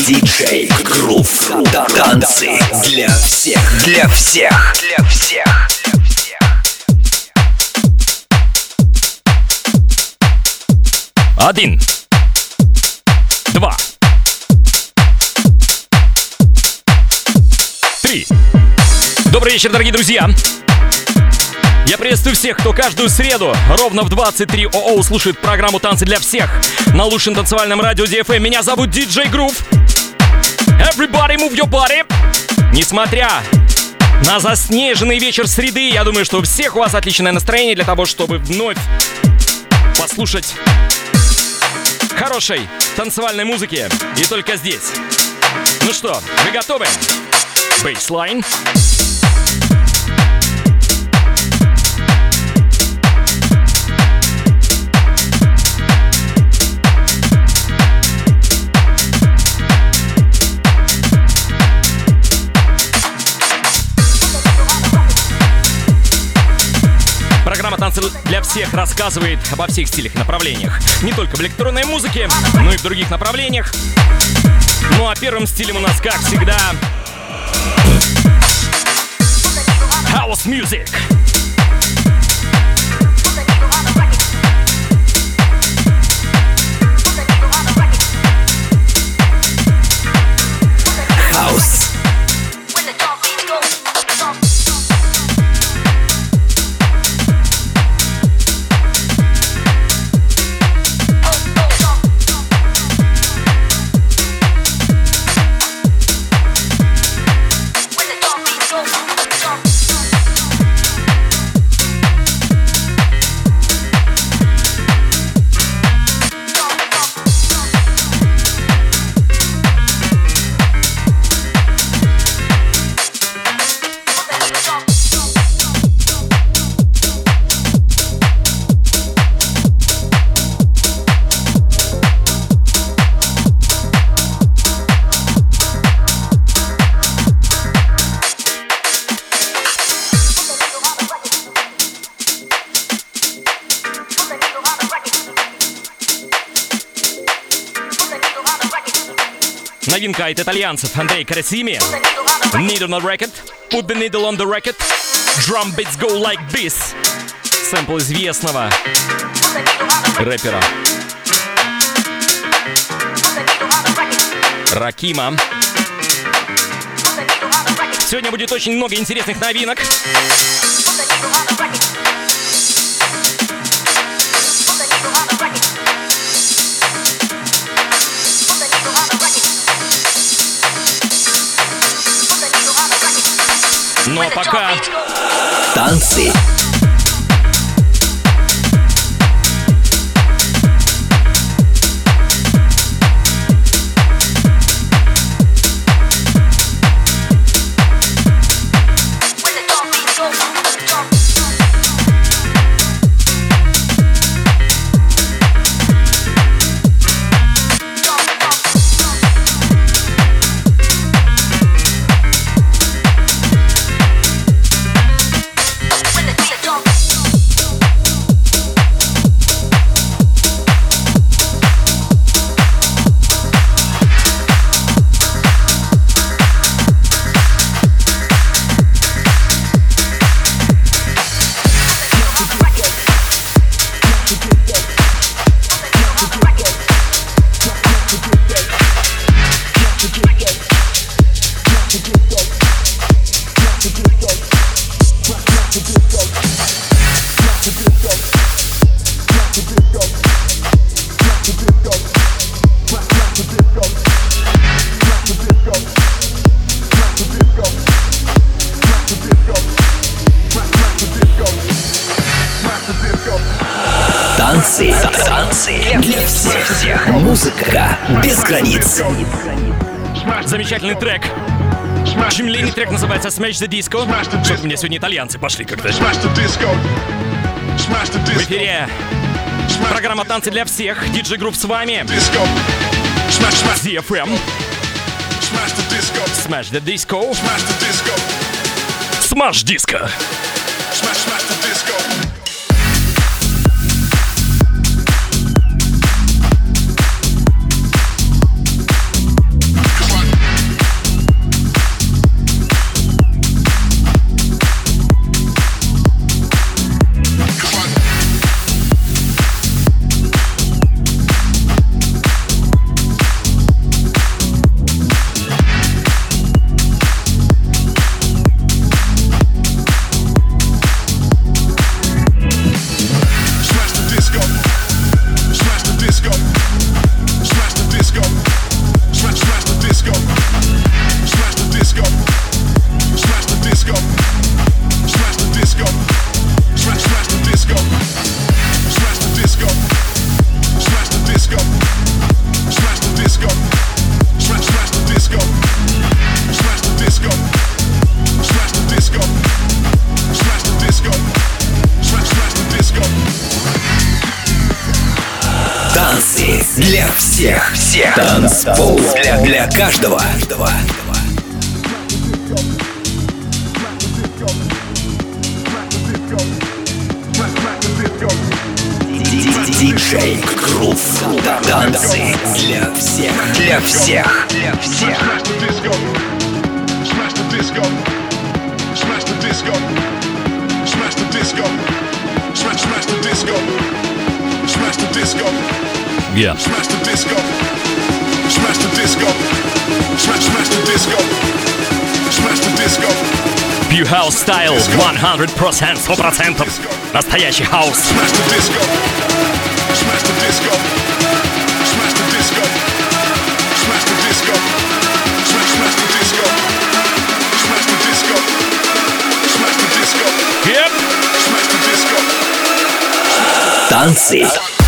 DJ Groove. Танцы для всех. Для всех. Для всех. 1, 2, 3. Добрый вечер, дорогие друзья! Я приветствую всех, кто каждую среду ровно в 23:00 слушает программу «Танцы для всех» на лучшем танцевальном радио DFM. Меня зовут DJ Groove. Everybody move your body! Несмотря на заснеженный вечер среды, я думаю, что у всех у вас отличное настроение для того, чтобы вновь послушать хорошей танцевальной музыки. И только здесь. Ну что, вы готовы? Бейслайн. Программа «Танцы для всех» рассказывает обо всех стилях и направлениях. Не только в электронной музыке, но и в других направлениях. Ну а первым стилем у нас, как всегда, House Music. House. Новинка от итальянцев Андрей Карасими. Needle on the record. Put the needle on the record. Drum beats go like this. Сэмпл известного рэпера Ракима. Сегодня будет очень много интересных новинок. Ну а пока танцы. Танцы для всех. Музыка без границ. Замечательный трек. Очень длинный трек, называется Smash the Disco. Что-то у меня сегодня итальянцы пошли как-то. В эфире программа «Танцы для всех». DJ Groove с вами. DFM. Smash the Disco. Smash Disco. всех. Танцпол для каждого. Диджей Грув. Танцы для всех. Yeah. Smash the disco. Smash the disco. Smash the disco. Smash the disco. Pure House Style 100%. Настоящий хаус. Smash the disco. Smash the disco. Smash the disco. Smash the disco. Smash the disco. Smash the disco. Smash the disco. Yep. Smash the disco. Танцы.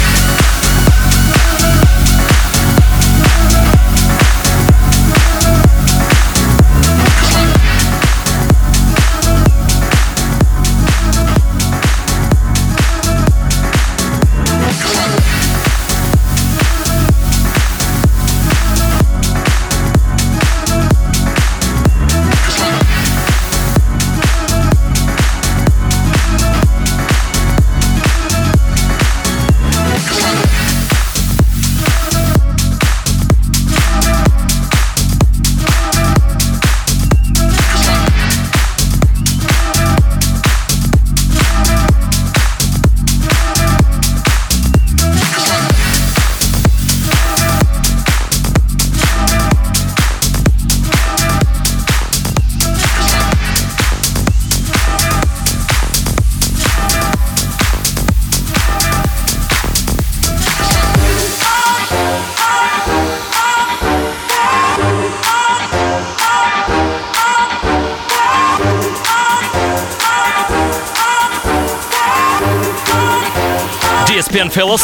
DSPN Fellas.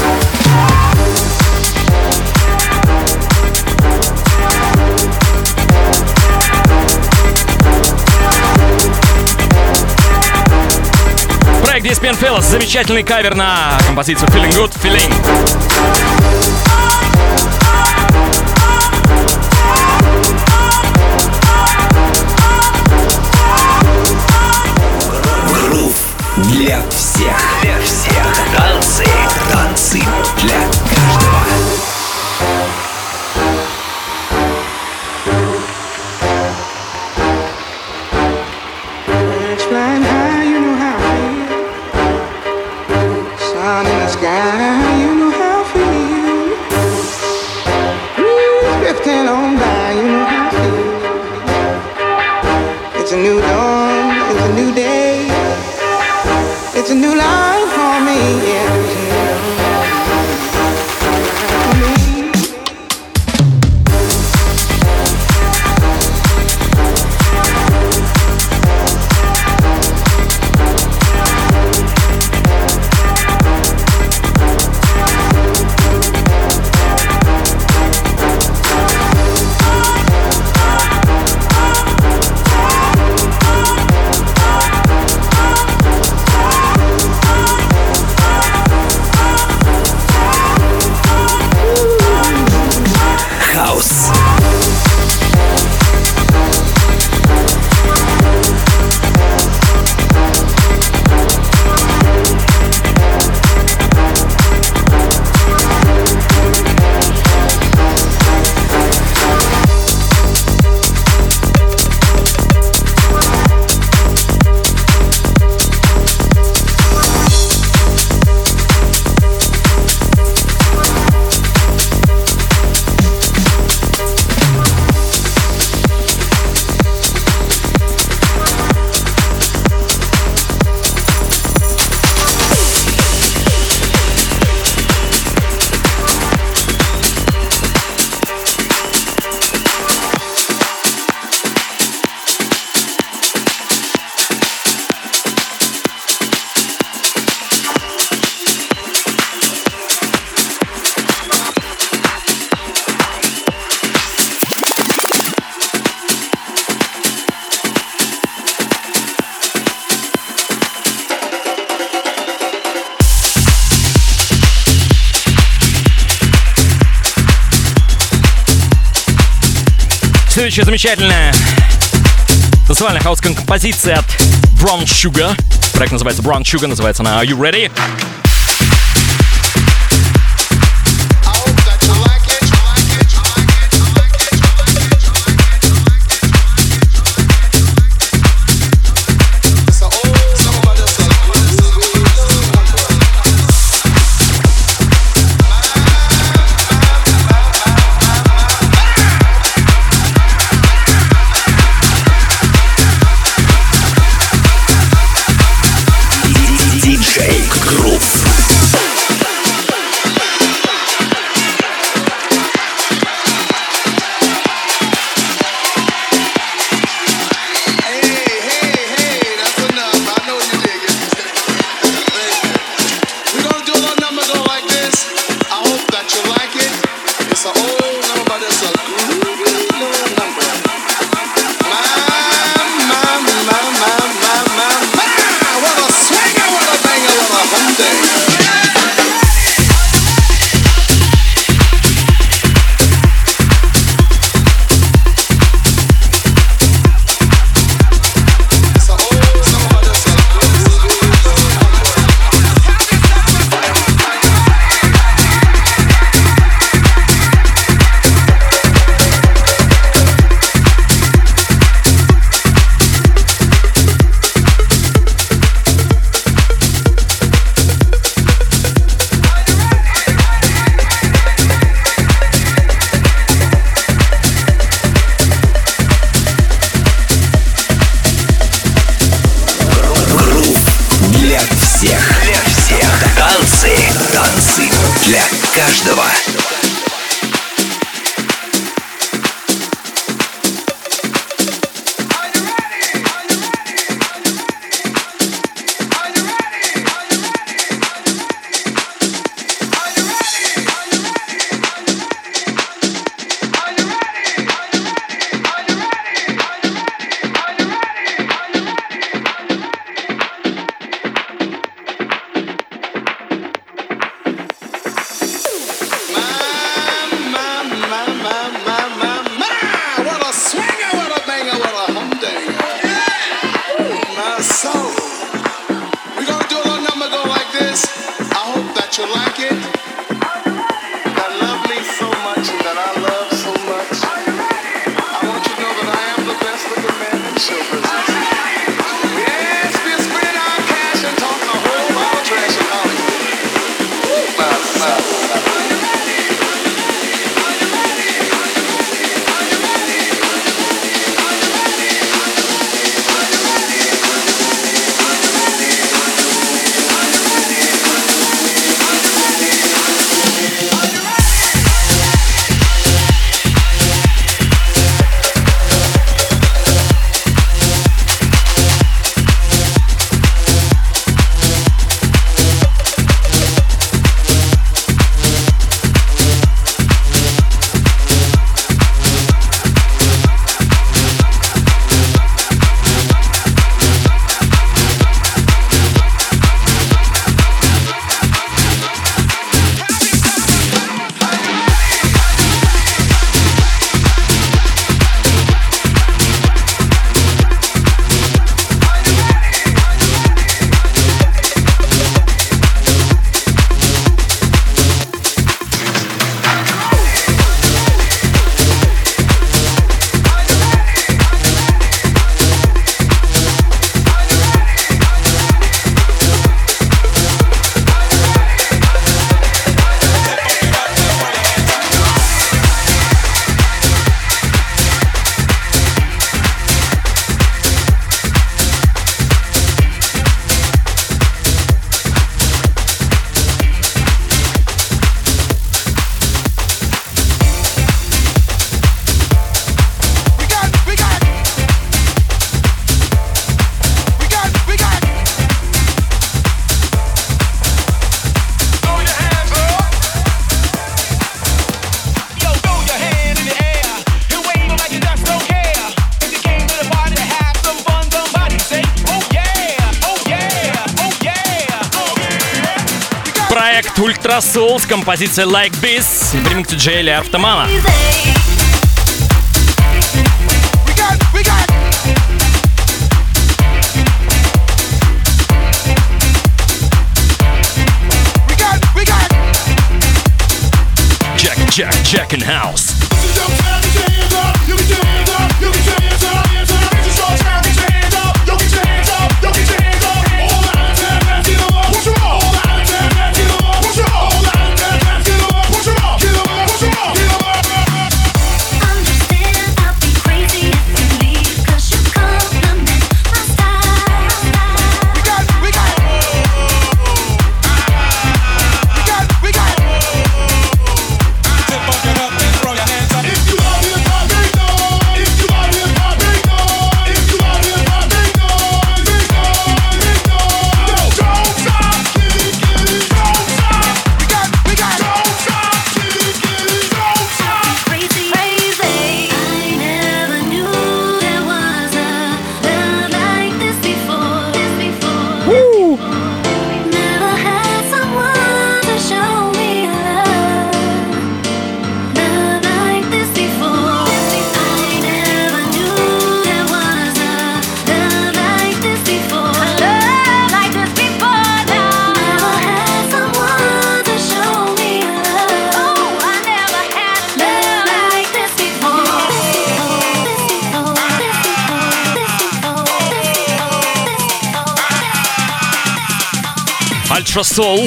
Проект DSPN Fellas. Замечательный кавер на композицию Feeling Good, Feeling. Для всех. Танцы для каждого. Flying high, you know how I feel. Sun in the sky, you know how I feel. Breeze drifting on by, you know how I feel. It's a new dawn, it's a new day. It's a new life for me, yeah. It's a new следующая замечательная танцевальная хаус-композиция от Brown Sugar. Проект называется Brown Sugar, называется она Are You Ready? Каждого. Ultra Soul с композицией Like This в ремиксе Джейли Артамана. Jack in House. Ultra Soul.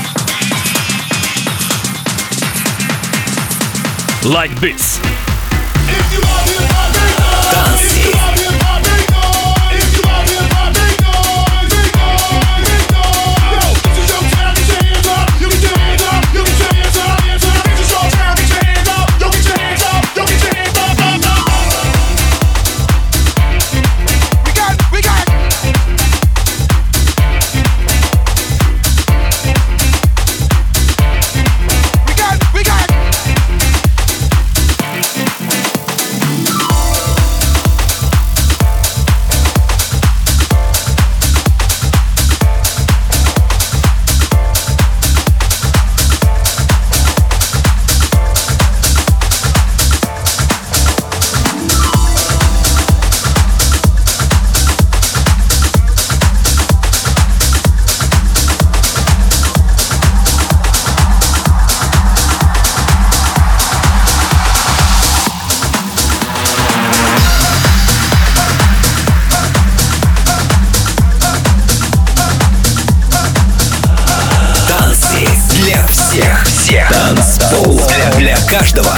Like this. Танцы. Всех. Танцпол для каждого.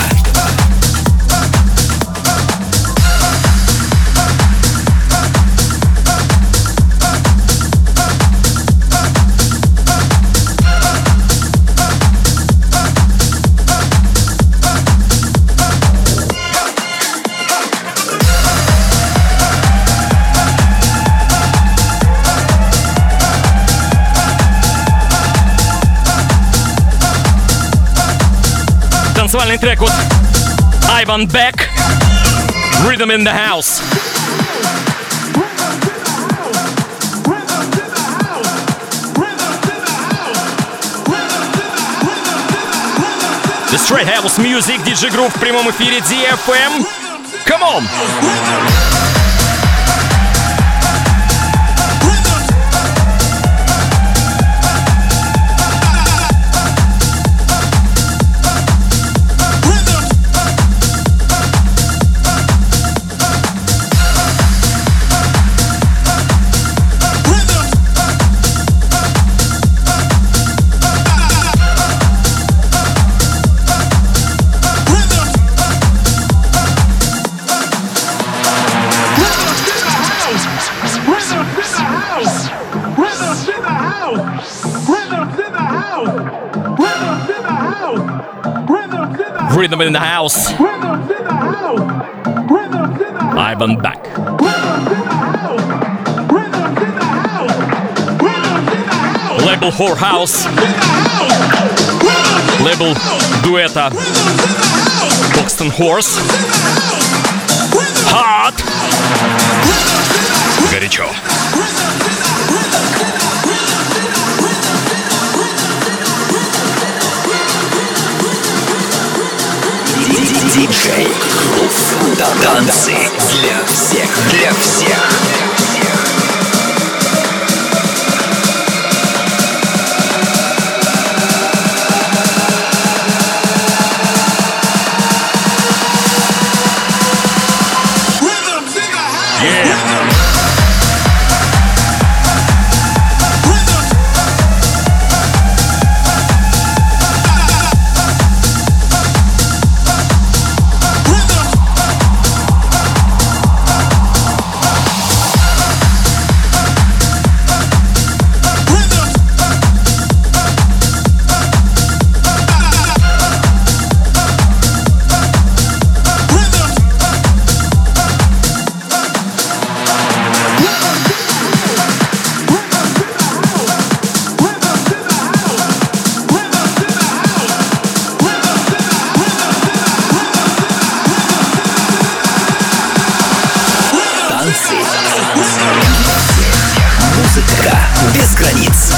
Танцевальный трек от Ivan Beck, Rhythm in the House. The Straight House Music, DJ Groove в прямом эфире DFM. Come on! Rhythm in the House. Ivan Beck. Лейбл Whorehouse. Лейбл дуэта Boxton Horse. Hot. Горячо. Диджей Грув. Танцы для всех. Музыка без границ.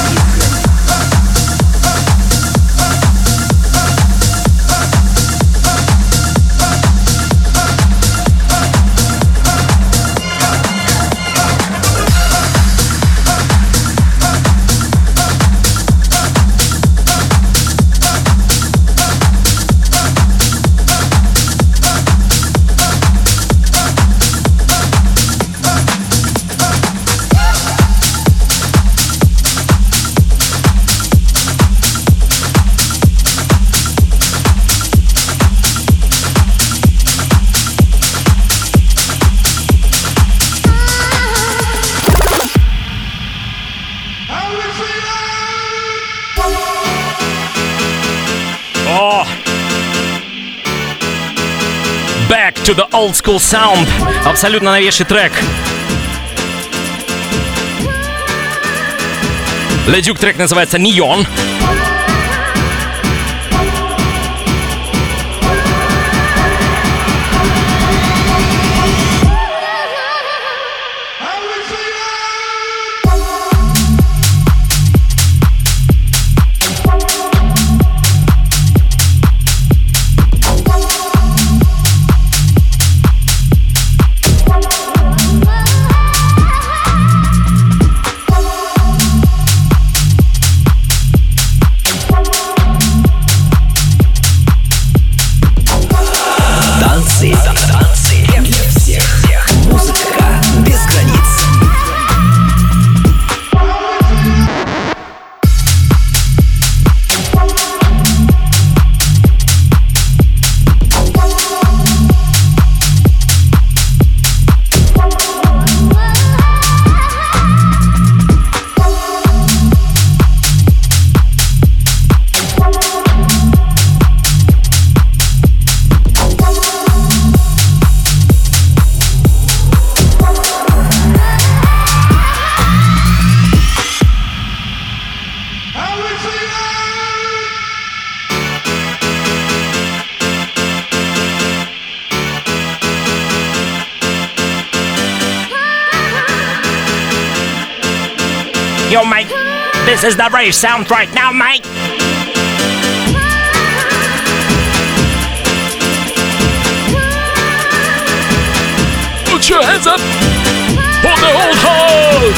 Back to the old school sound. Абсолютно новейший трек. Ледюк, трек называется Neon. Танцы для всех. Музыка без границ. Yo, mate, this is the rave sound right now, mate. Put your hands up for the old hole.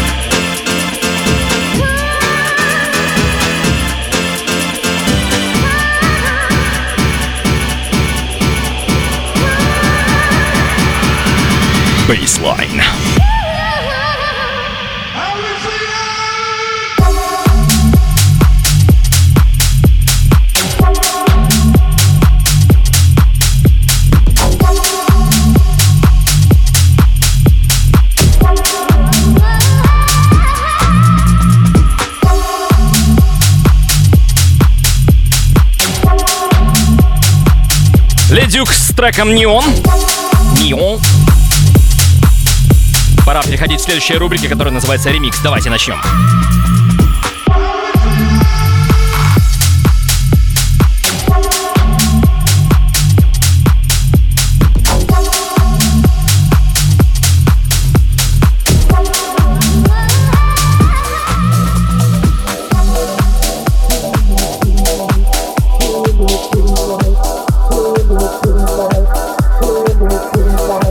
Baseline. Ледюк с треком Neon. Neon. Пора переходить к следующей рубрике, которая называется «Ремикс». Давайте начнем.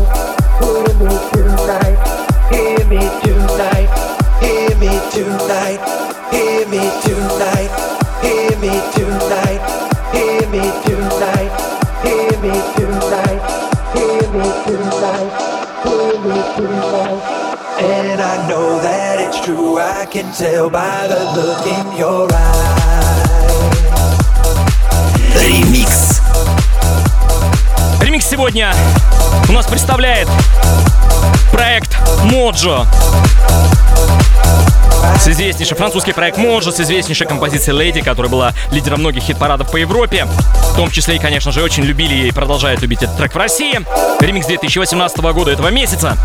Tonight. And I know that it's true, I can tell by the look in your eyes. Ремикс. Ремикс сегодня у нас представляет проект Моджо. Французский проект Моджо с известнейшей композицией Lady, которая была лидером многих хит-парадов по Европе. В том числе и, конечно же, очень любили и продолжают любить этот трек в России. Ремикс 2018 года этого месяца.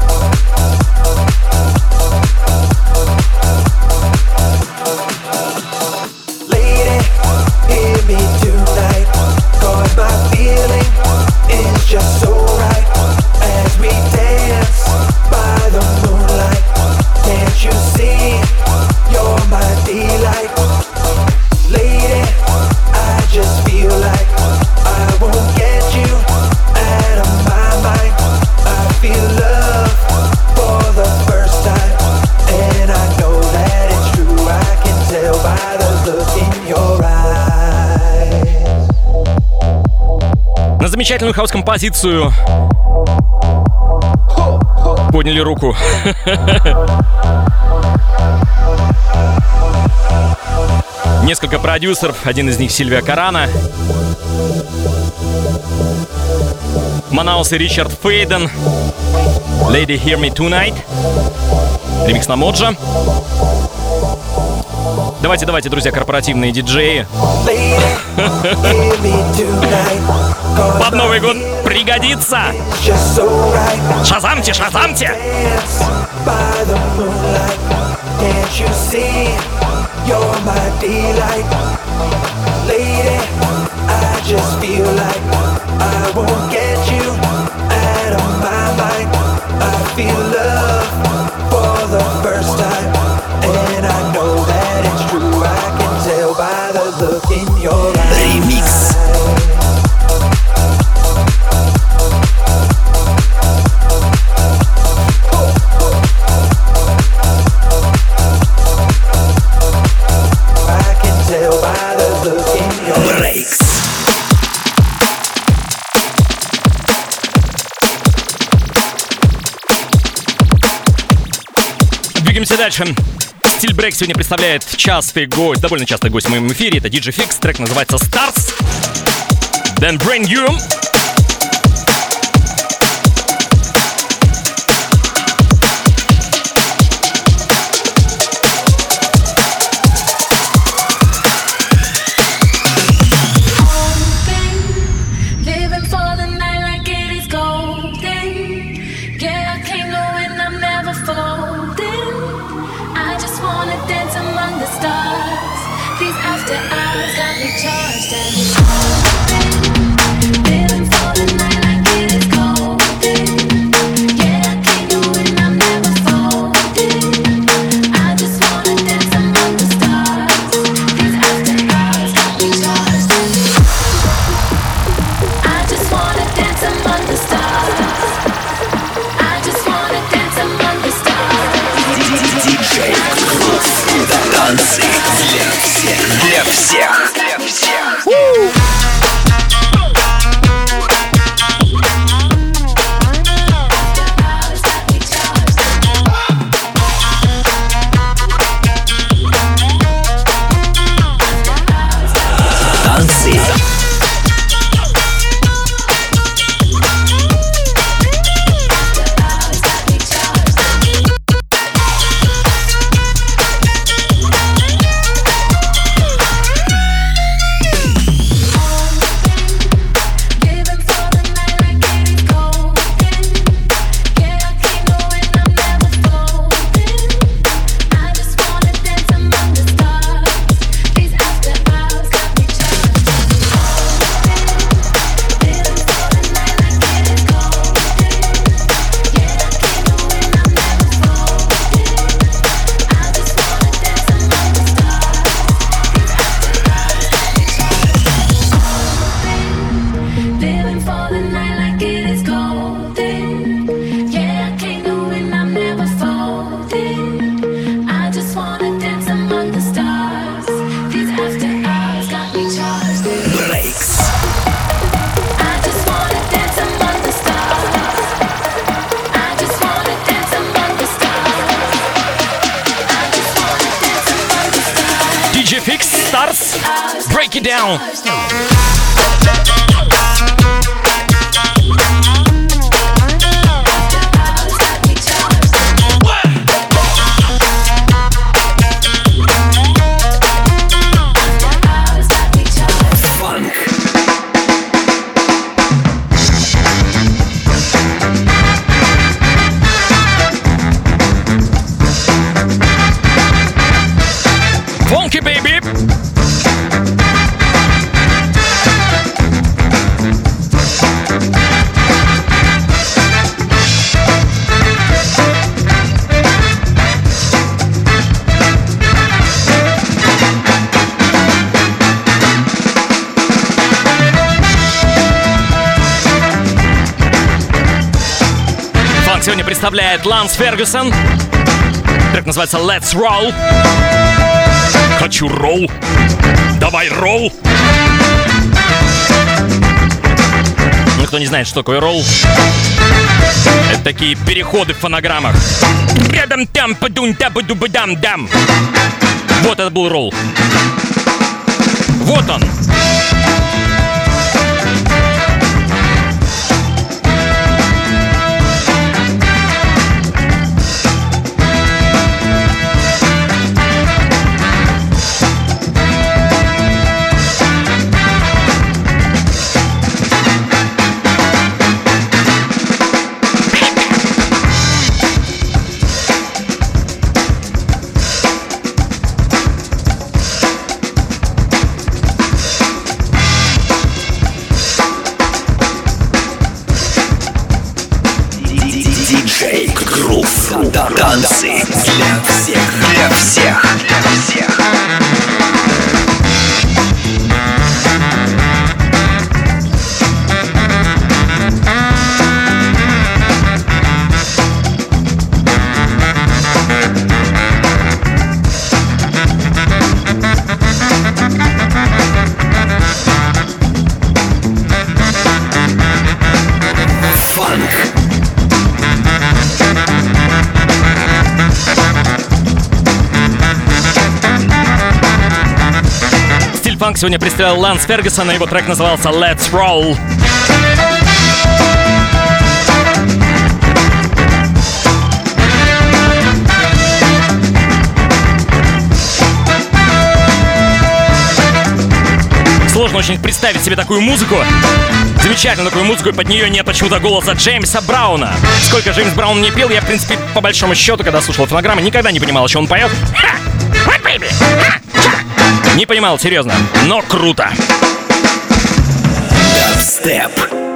Just so right as we dance by the moonlight. Can't you see you're my delight? Lady, I just feel like I won't get you out of my mind. I feel love for the first time, and I know that it's true. I can tell by the look in your eyes. На замечательную хаус-композицию подняли руку. Несколько продюсеров, один из них Сильвия Карана, Манаус и Ричард Фейден, Lady Hear Me Tonight, ремикс на Моджо. Давайте, друзья, корпоративные диджеи. Под Новый год пригодится. Шазамьте, шазамьте! Ремикс. Breaks. Двигаемся дальше. Стиль Брейк сегодня представляет довольно частый гость в моем эфире. Это DJ Fix. Трек называется Stars. Then Bring You. Танцы для всех. Танцы. Break it down. Funky baby. Фанк сегодня представляет Ланс Фергюсон. Трек называется Let's Roll. Хочу ролл. Давай ролл. Ну, кто не знает, что такое ролл, это такие переходы в фонограммах. Вот это был ролл. Вот он. Танцы для всех, для всех, для всех. Фанк сегодня представлял Ланс Фергюсон, и его трек назывался Let's Roll. Сложно очень представить себе такую музыку. Замечательную такую музыку, и под нее нет почему-то голоса Джеймса Брауна. Сколько Джеймс Браун не пел, я, в принципе, по большому счету, когда слушал фонограммы, никогда не понимал, о чем он поет. Не понимал, серьезно, но круто. Дабстеп.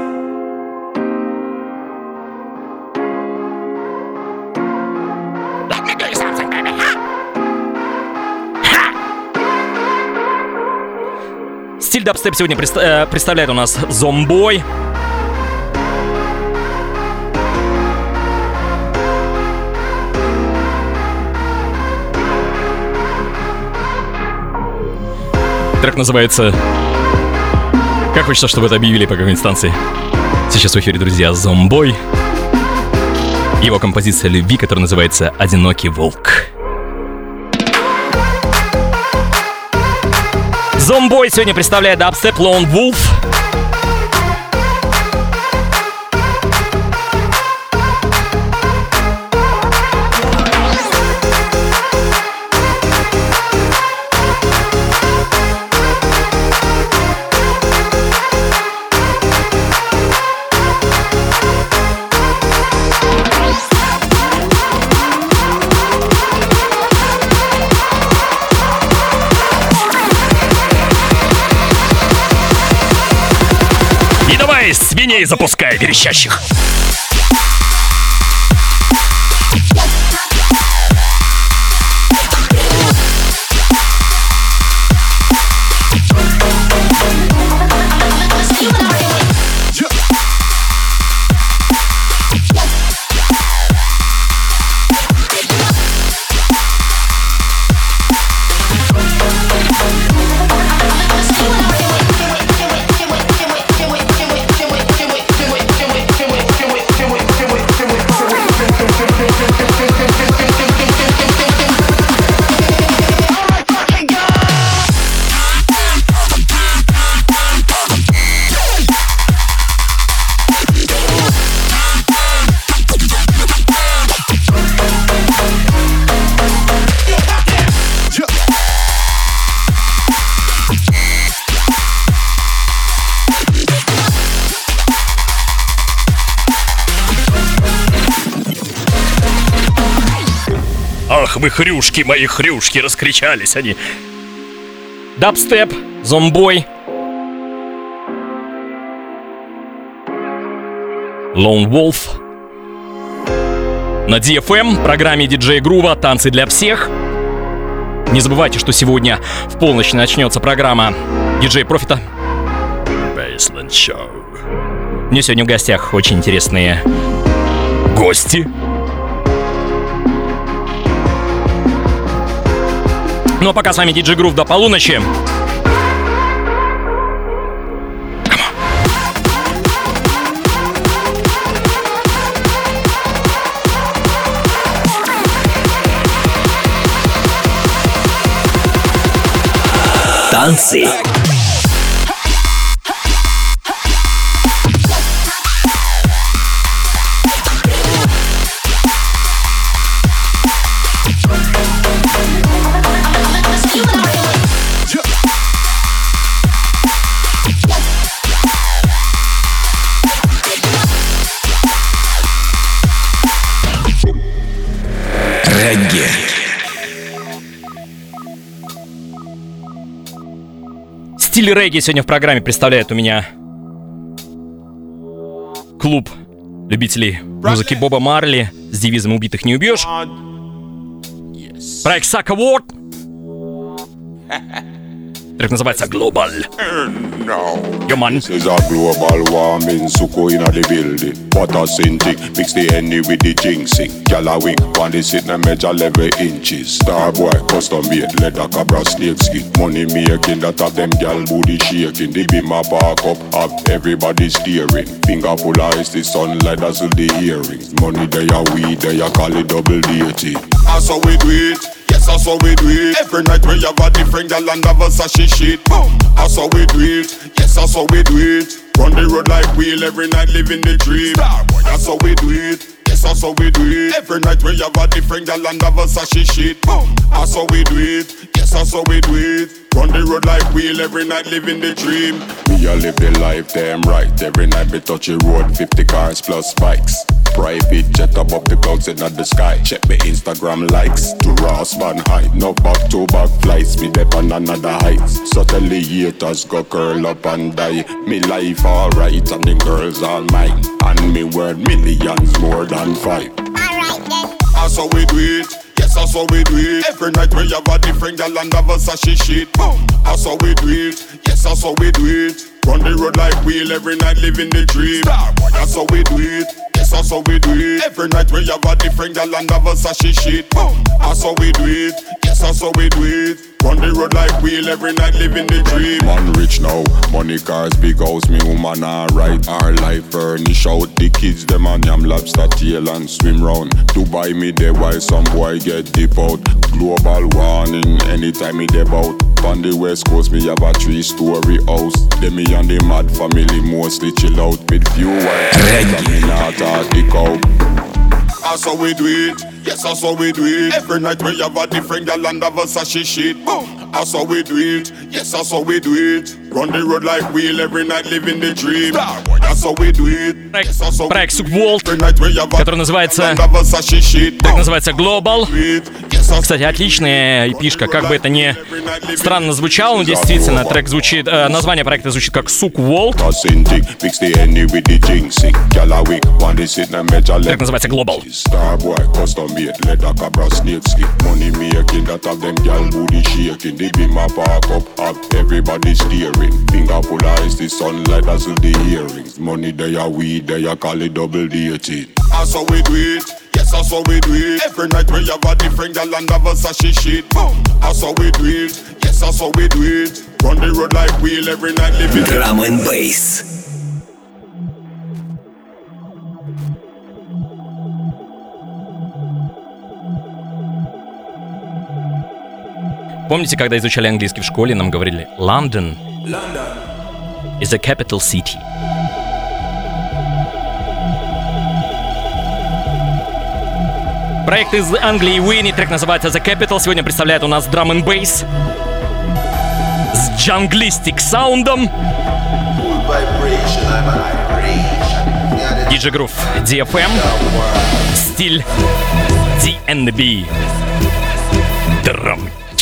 Стиль дабстеп сегодня представляет у нас Зомбой. Трек называется... Как хочется, чтобы это объявили по какой-нибудь станции. Сейчас в эфире, друзья, Зомбой. Его композиция любви, которая называется «Одинокий волк». Зомбой сегодня представляет дабстеп Lone Wolf. Свиней запускай, верещащих. Ах, вы хрюшки, мои хрюшки, раскричались они. Дабстеп, зомбой. Lone Wolf. На DFM, программе DJ Groove «Танцы для всех». Не забывайте, что сегодня в полночь начнется программа DJ Профита. Baseline Show. У меня сегодня в гостях очень интересные гости. Ну а пока с вами DJ Groove до полуночи. Танцы. Регги. Стиль регги сегодня в программе представляет у меня клуб любителей музыки Боба Марли с девизом «Убитых не убьешь». Проект Suck Award. Трек называется Global. Yo, man. This is a global warming, suko inna the building. Water synthetic, mix the Henny with the jinxing. Gyal a wing, one they sit na measure level inches. Starboy, custom made, leather cabra snake skin. Money making, that have them gyal booty shaking. The beam a park up, have everybody steering. Finger full of ice, the sunlight dazzle the earrings. Money they a weed, they a call it double dating. That's how we do it. Yes, that's how we do it. Every night we have a different gal and have a sashi shit. That's how we do it. Yes, that's how we do it. Run the road like wheel every night, living the dream. That's how we do it. Yes, that's how we do it. Every night we have a different gal and have a sashi shit. That's how we do it. Yes, that's how we do it. Run the road like wheel every night, living the dream. Me a live the life damn right. Every night we touch the road, 50 cars plus bikes. Private jet above the clouds in the sky. Check my Instagram likes to Ross Van High. No back to back flights, me dep on another heights. Suddenly haters go curl up and die. Me life alright and the girls all mine. And me worth millions more than 5. Alright then. That's how we do it. Yes, that's how we do it. Every night we have a different gal and have a sashi shit. That's how we do it. Yes, that's how we do it. Run the road like wheel every night, living the dream. That's how we do it. Yes, that's how we do it. Every night we have a different gal and have a sashi shit. That's how we do it. Yes, that's how we do it. Run the road like wheel every night, living the dream. Man rich now, money cars, big house, me woman alright. Our life furnish out, the kids them and yam lobster tail and swim round. Dubai me there while some boy get deep out. Global warning, anytime me deb out. On the west coast me have a 3-story house. Then me and the mad family mostly chill out with few white and me not Arctic out. That's how we do it. Yes, that's how we do it. Every night we have a different gal and have a sashi shit. That's how we do it. Yes, that's how we do it. Run the road like wheel every night, living the dream. That's how we do it. Проект Suck Award, который называется, так называется Global. Кстати, отличная эпишка, как бы это ни странно звучало, но действительно трек звучит, название проекта звучит как Suck Award. Трек называется Global. Starboy, custom made, leather cabra snake skin. Money making, that have them gal booty shaking. The beam a park up, have everybody steering. Finger full of ice, the sunlight dazzle the earrings. Money they a weed, they a call it double dating. That's how we do it. Yes, that's how we do it. Every night we have a different gal and have a sashi shit. That's how we do it. Yes, that's how we do it. Run the road like wheel every night, living Drum and bass. Помните, когда изучали английский в школе, нам говорили London is a capital city. Проект из Англии Уинни, трек называется The Capital. Сегодня представляет у нас Drum and Bass с джанглистик саундом. DJ Groove, DFM, стиль DNB. вечером.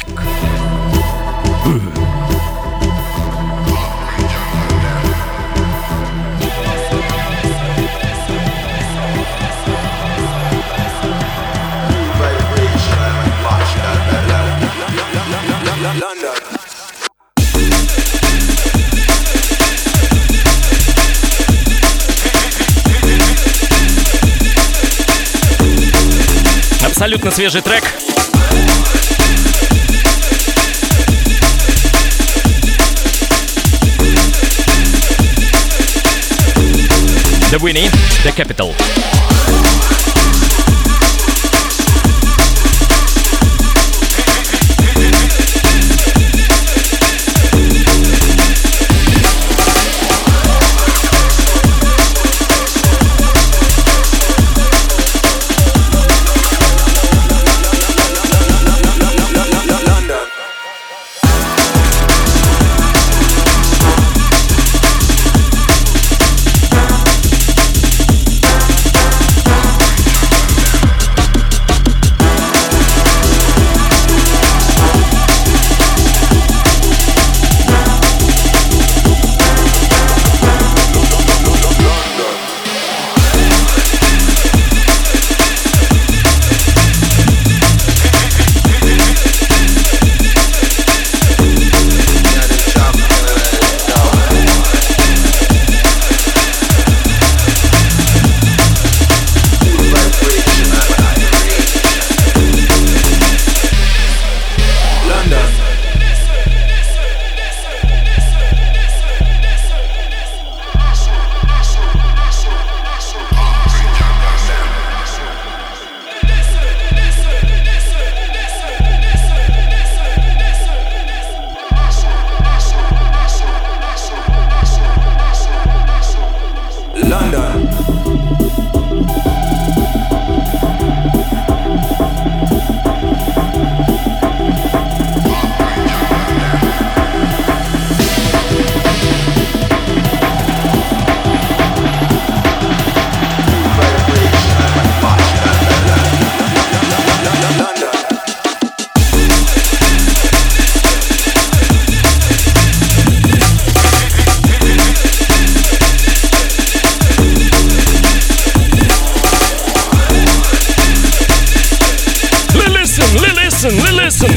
Абсолютно свежий трек. The Winnie, The Capital. Listen.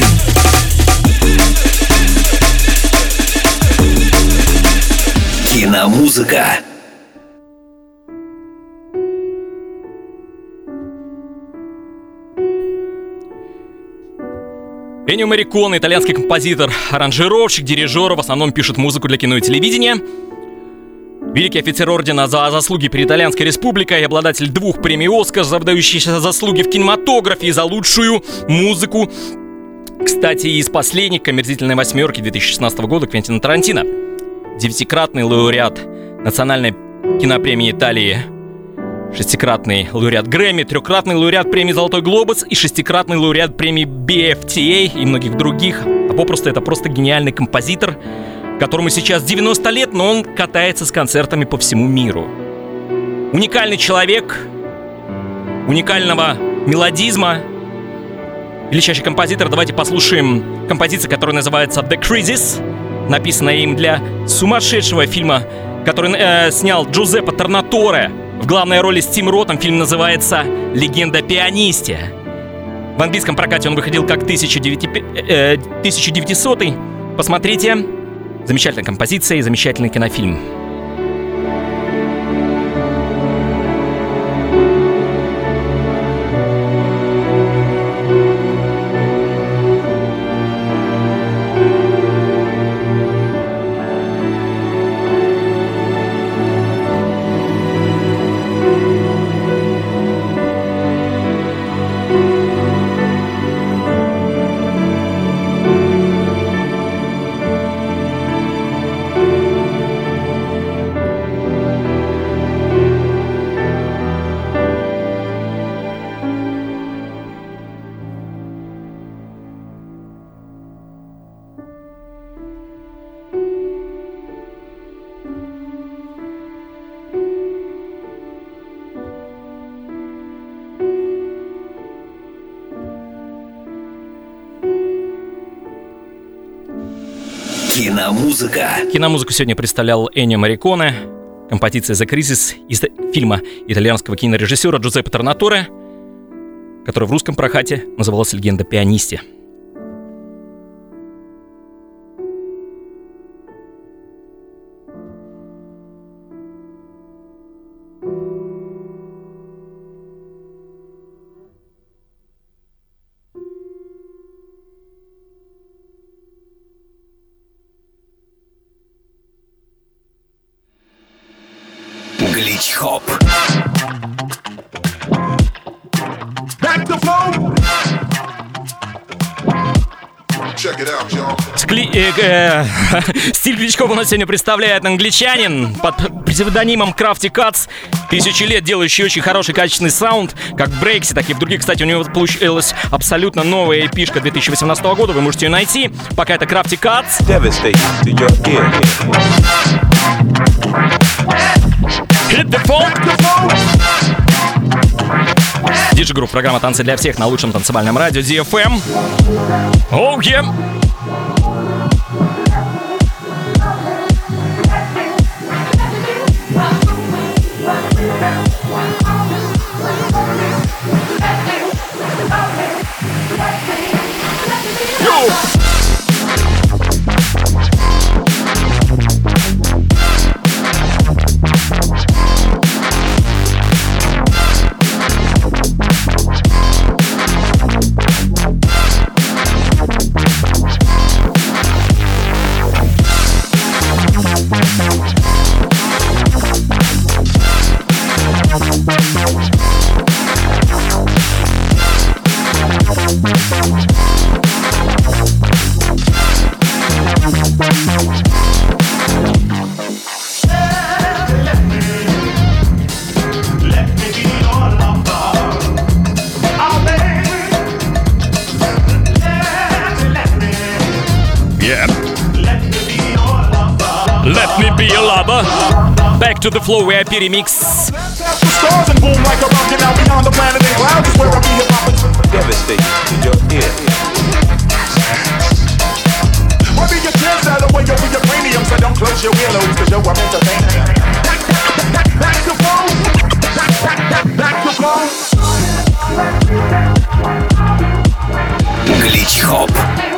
Киномузыка. Эннио Морриконе, итальянский композитор, аранжировщик, дирижер, в основном пишет музыку для кино и телевидения. Великий офицер ордена за заслуги перед Итальянской республикой и обладатель 2 премий «Оскар» за выдающиеся заслуги в кинематографе и за лучшую музыку. Кстати, из последних «Омерзительной восьмерки» 2016 года Квентина Тарантино. 9-кратный лауреат Национальной кинопремии Италии, 6-кратный лауреат Грэмми, 3-кратный лауреат премии «Золотой глобус» и 6-кратный лауреат премии BFTA и многих других. А попросту это просто гениальный композитор, которому сейчас 90 лет, но он катается с концертами по всему миру. Уникальный человек, уникального мелодизма, величайший композитор. Давайте послушаем композицию, которая называется «The Crisis», написанная им для сумасшедшего фильма, который снял Джузеппе Торнаторе. В главной роли с Тим Ротом. Фильм называется «Легенда о пианисте». В английском прокате он выходил как 1900-й. Посмотрите. Замечательная композиция и замечательный кинофильм. Киномузыка. Киномузыку сегодня представлял Эннио Морриконе. Композиция «The Crisis» из фильма итальянского кинорежиссера Джузеппе Торнаторе, который в русском прокате назывался «Легенда о пианисте». Глич-хоп. Стиль глич-хоп у нас сегодня представляет англичанин под псевдонимом Crafty Cuts, тысячи лет делающий очень хороший качественный саунд, как в брейксе, так и в других. Кстати, у него получилась абсолютно новая эпишка 2018 года, вы можете ее найти. Пока это Crafty Cuts. Hit the phone. Диджи-групп, программа «Танцы для всех» на лучшем танцевальном радио DFM. Oh, yeah. Let me be your lover. Back to the flow, VIP remix. Stars and boom like a rocket now beyond the planet and clouds is where I be hip hop. Devastate in your ear. Why be your chance out of the way you'll be your premium, so don't close your earlobes, cause yo, I'm entertaining. Back to phone. Back to phone. Глич-хоп.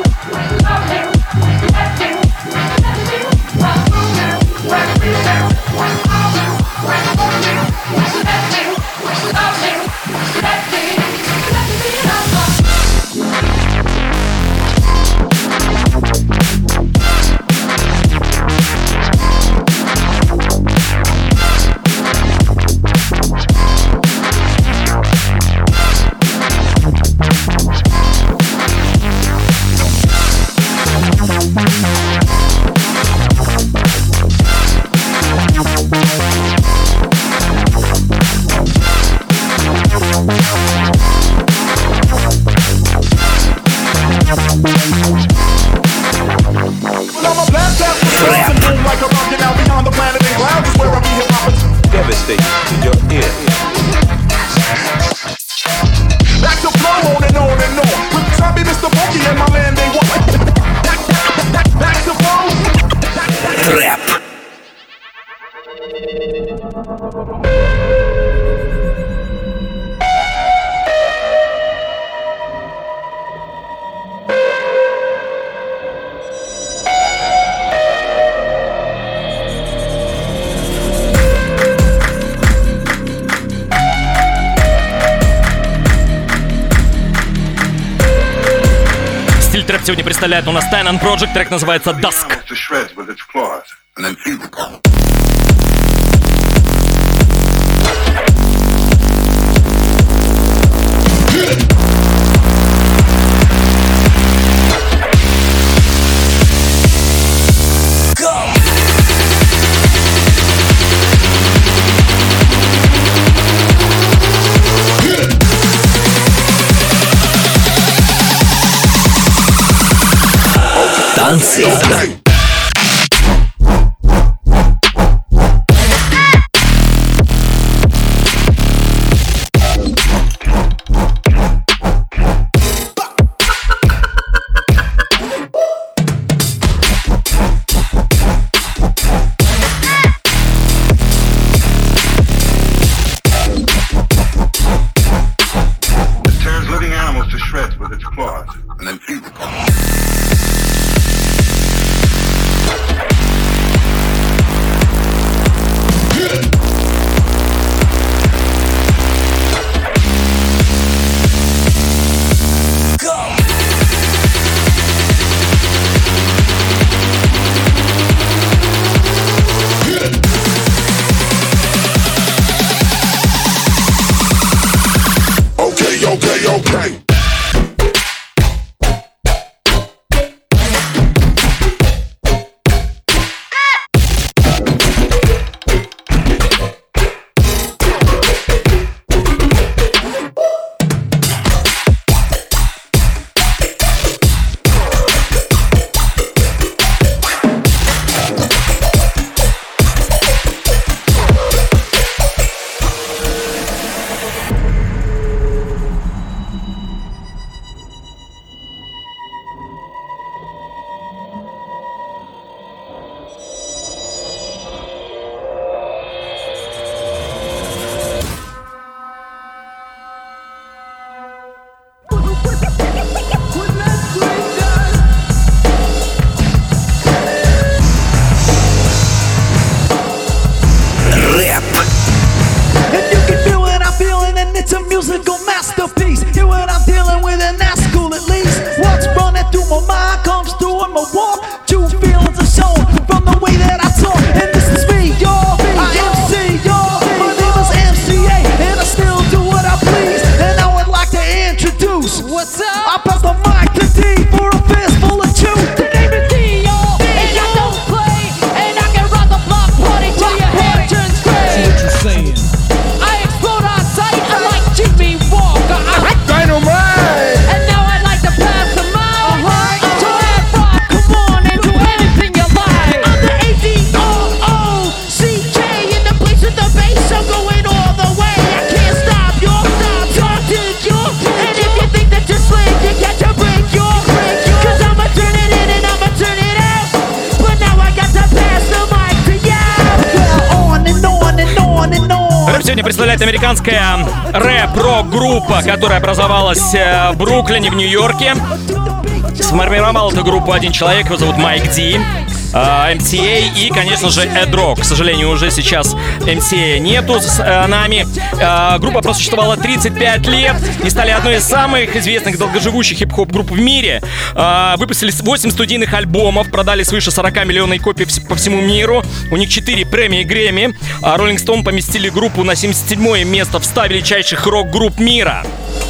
Devastate in your ear. Back to flow on and on and on. With Zombie, Mr. Funky and my man, they want. Back to flow. Трэп. Трэп сегодня представляет у нас Tynan Project, трек называется Dusk. Танцы. I pass the mic to D for a fistful of two. The name is D, y'all, and I don't play, and I can rock the block party till your hair turns gray. See what you're saying? I explode on sight, I like Jimmy Walker. Dynamite! And now I'd like to pass the mic to Ed Rock. Come on and do anything you like. I'm the ADOOCK in the place with the bass. I'm going all the way. I can't stop you. Talk to you. And if you think that you're slick, you got to break your. Cause I'ma turn it in and I'ma turn it out. But now I got to pass the mic to you. On and on and on and on. Рэп сегодня представляет американская рэп-рок-группа, которая образовалась в Бруклине, в Нью-Йорке. Сформировал эту группу один человек, его зовут Майк Ди, MCA и, конечно же, Эд Рок. К сожалению, уже сейчас MCA нету с нами. Группа просуществовала 35 лет и стали одной из самых известных долгоживущих хип-хоп групп в мире. Выпустили 8 студийных альбомов, продали свыше 40 миллионов копий по всему миру. У них 4 премии Грэмми. Rolling Stone поместили группу на 77-е место в 100 величайших рок-групп мира.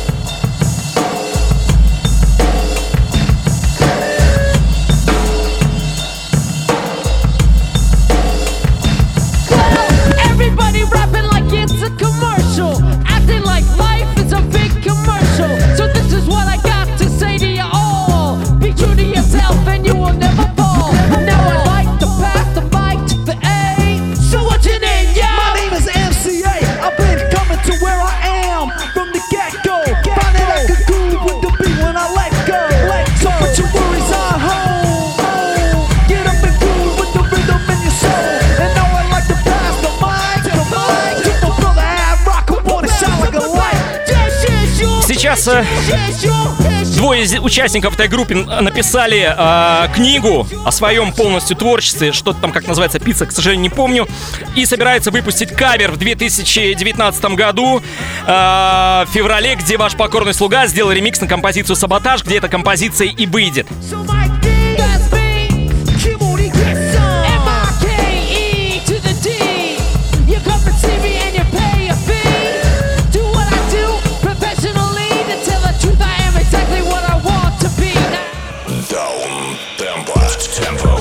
Everybody rapping like it's a commercial, acting like life is a big commercial. So this is what I got to say to you all: be true to yourself and you will never fall. Now I'd like to pass the mic to the A. So what's your name, My y'all? name is MCA. I've been coming to where I am from the get-go. Finding I could groove with the beat when I let go. So put your worries on hold. Get up and groove with the rhythm in your soul. And now I'd like to pass the mic to my brother Ad Rock, who wanna shine like a light. Сейчас двое из участников этой группы написали книгу о своем полностью творчестве, что-то там, как называется, «Пицца», к сожалению, не помню, и собираются выпустить кавер в 2019 году, в феврале, где ваш покорный слуга сделал ремикс на композицию «Саботаж», где эта композиция и выйдет. So Mike D, that's me. Keep on it, get some. M-I-K-E to the D. You come and see me and you pay a fee. Do what I do professionally. To tell the truth, I am exactly what I want to be. Down tempo.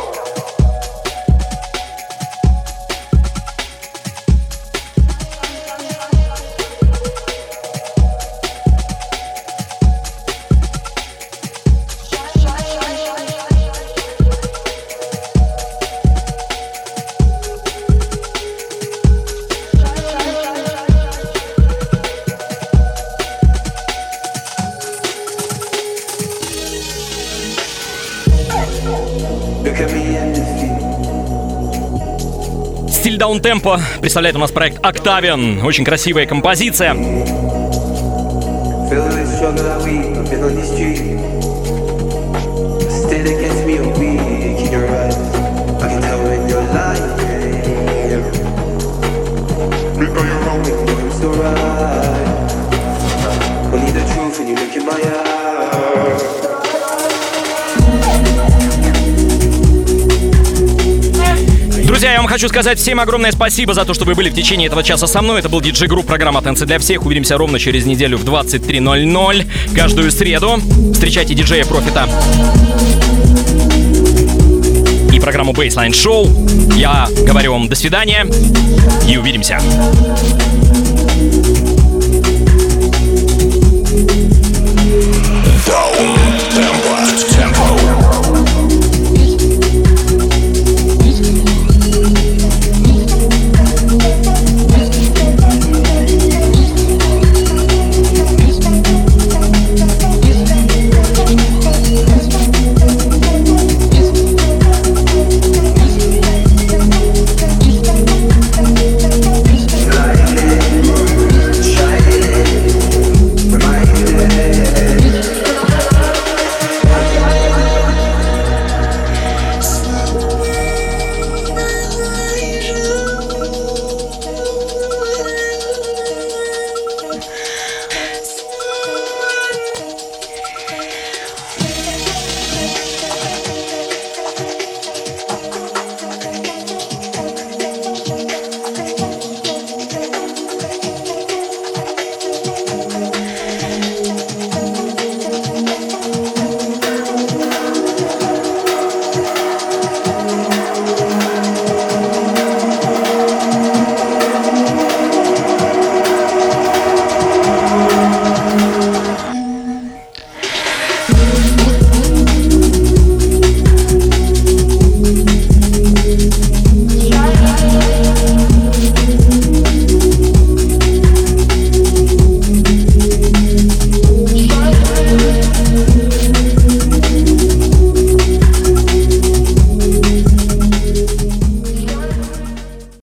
Look at me and defeat. Стиль даунтемпо представляет у нас проект Octavian. Очень красивая композиция. Feel the struggle that we have been on the street. Still against me or weak in your eyes. I can tell when you're lying. Look on your own, I'm so right. Only the truth when you look in my eyes. Друзья, я вам хочу сказать всем огромное спасибо за то, что вы были в течение этого часа со мной. Это был DJ Group, программа «Танцы для всех». Увидимся ровно через неделю в 23:00 каждую среду. Встречайте диджея Профита и программу Baseline Show. Я говорю вам до свидания и увидимся.